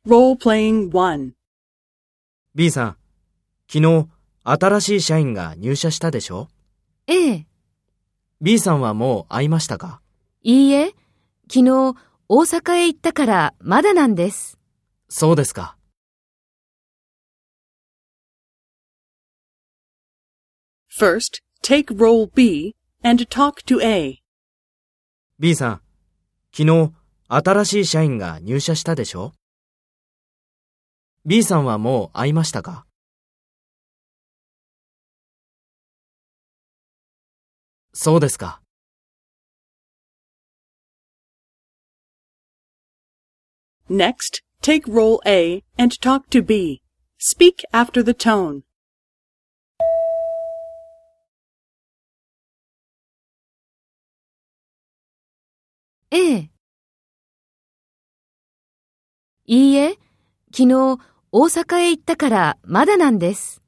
Role-playing 1. B さん、昨日新しい社員が入社したでしょ？ ええ。 B さんはもう会いましたか？ いいえ、昨日大阪へ行ったからまだなんです。 そうですか。 First, take role B and talk to A. B さん、昨日新しい社員が入社したでしょ？B さんはもう会いましたか？そうですか。 Next, take role A and talk to B. Speak after the tone. ええ。いいえ、昨日大阪へ行ったからまだなんです。